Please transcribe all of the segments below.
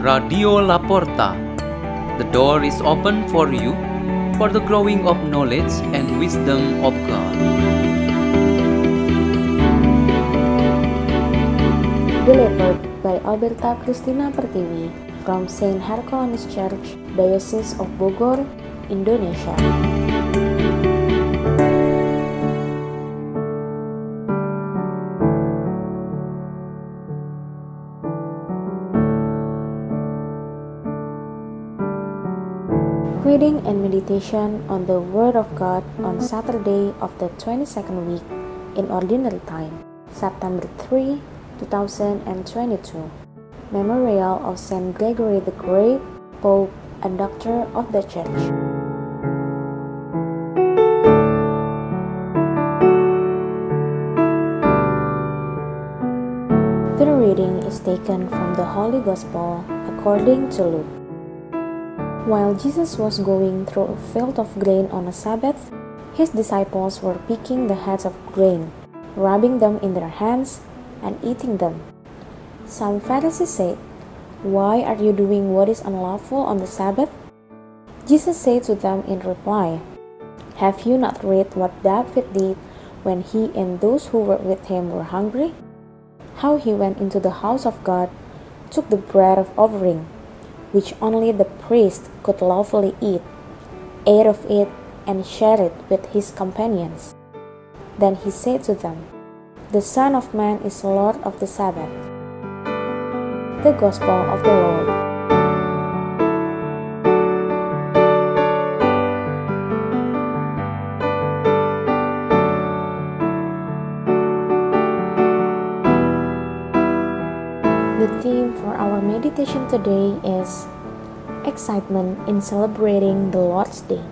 Radio Laporta. The door is open for you for the growing of knowledge and wisdom of God. Delivered by Alberta Christina Pertiwi from Saint Herculanus Church, Diocese of Bogor, Indonesia. Reading and meditation on the Word of God on Saturday of the 22nd week in Ordinary Time, September 3, 2022. Memorial of Saint Gregory the Great, Pope and Doctor of the Church. The reading is taken from the Holy Gospel according to Luke. While Jesus was going through a field of grain on a Sabbath, his disciples were picking the heads of grain, rubbing them in their hands, and eating them. Some Pharisees said, "Why are you doing what is unlawful on the Sabbath?" Jesus said to them in reply, "Have you not read what David did when he and those who were with him were hungry? How he went into the house of God, took the bread of offering, which only the priest could lawfully eat, ate of it, and shared it with his companions. Then he said to them, 'The Son of Man is Lord of the Sabbath.'" The Gospel of the Lord. The theme for our meditation today is excitement in celebrating the Lord's Day.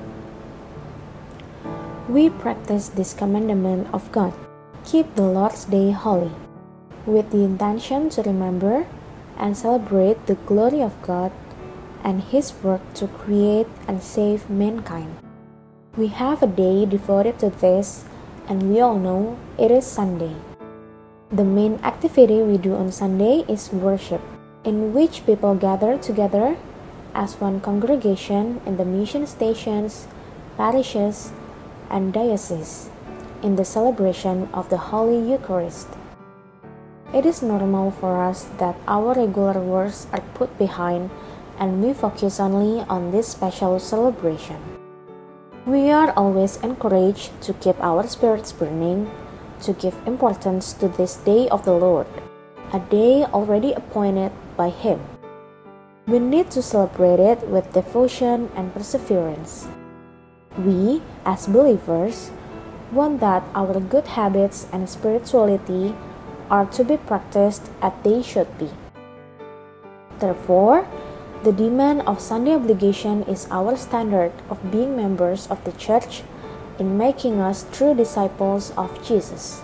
We practice this commandment of God, keep the Lord's Day holy, with the intention to remember and celebrate the glory of God and His work to create and save mankind. We have a day devoted to this, and we all know it is Sunday. The main activity we do on Sunday is worship, in which people gather together as one congregation in the mission stations, parishes, and dioceses in the celebration of the Holy Eucharist. It is normal for us that our regular works are put behind and we focus only on this special celebration. We are always encouraged to keep our spirits burning, to give importance to this day of the Lord, a day already appointed by Him. We need to celebrate it with devotion and perseverance. We, as believers, want that our good habits and spirituality are to be practiced as they should be. Therefore, the demand of Sunday obligation is our standard of being members of the Church in making us true disciples of Jesus.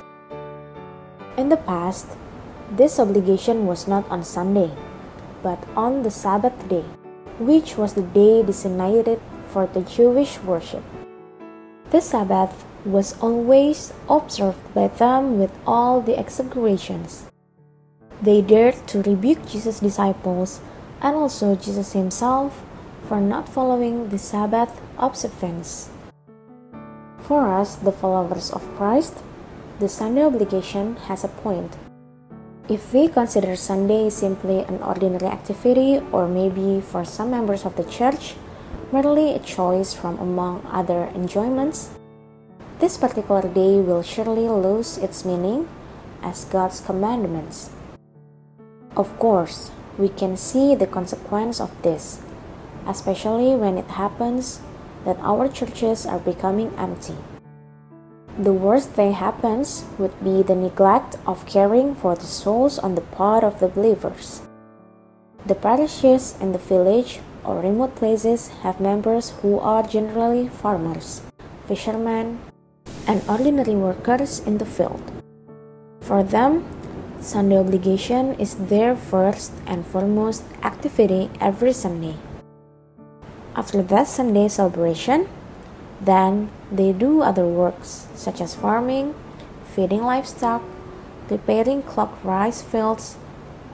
In the past, this obligation was not on Sunday, but on the Sabbath day, which was the day designated for the Jewish worship. The Sabbath was always observed by them with all the exaggerations. They dared to rebuke Jesus' disciples and also Jesus himself for not following the Sabbath observance. For us, the followers of Christ, the Sunday obligation has a point. If we consider Sunday simply an ordinary activity, or maybe for some members of the Church, merely a choice from among other enjoyments, this particular day will surely lose its meaning as God's commandments. Of course, we can see the consequence of this, especially when it happens that our churches are becoming empty. The worst thing happens would be the neglect of caring for the souls on the part of the believers. The parishes in the village or remote places have members who are generally farmers, fishermen, and ordinary workers in the field. For them, Sunday obligation is their first and foremost activity every Sunday. After that Sunday celebration, then they do other works such as farming, feeding livestock, preparing clock rice fields,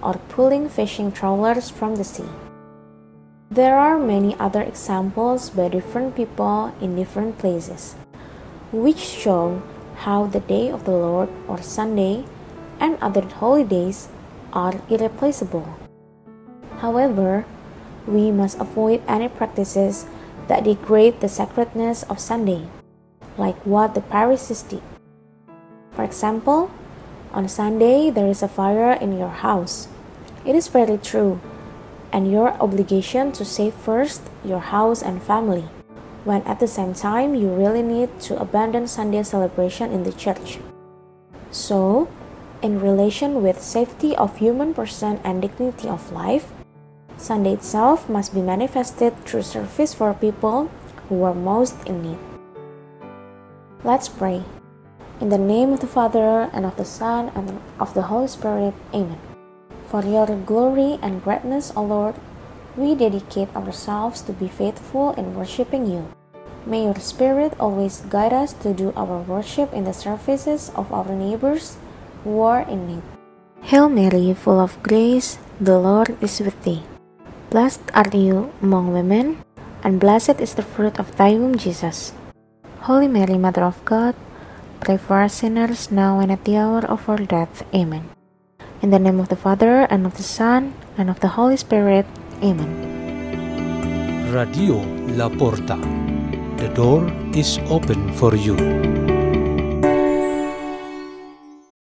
or pulling fishing trawlers from the sea. There are many other examples by different people in different places, which show how the day of the Lord or Sunday and other holidays are irreplaceable. However, we must avoid any practices that degrade the sacredness of Sunday, like what the Pharisees did. For example, on Sunday there is a fire in your house. It is very true, and your obligation to save first your house and family, when at the same time you really need to abandon Sunday celebration in the church. So, in relation with safety of human person and dignity of life, Sunday itself must be manifested through service for people who are most in need. Let's pray. In the name of the Father, and of the Son, and of the Holy Spirit. Amen. For your glory and greatness, O Lord, we dedicate ourselves to be faithful in worshiping you. May your Spirit always guide us to do our worship in the services of our neighbors who are in need. Hail Mary, full of grace, the Lord is with thee. Blessed are you among women, and blessed is the fruit of thy womb, Jesus. Holy Mary, Mother of God, pray for us sinners now and at the hour of our death. Amen. In the name of the Father, and of the Son, and of the Holy Spirit. Amen. Radio La Porta. The door is open for you.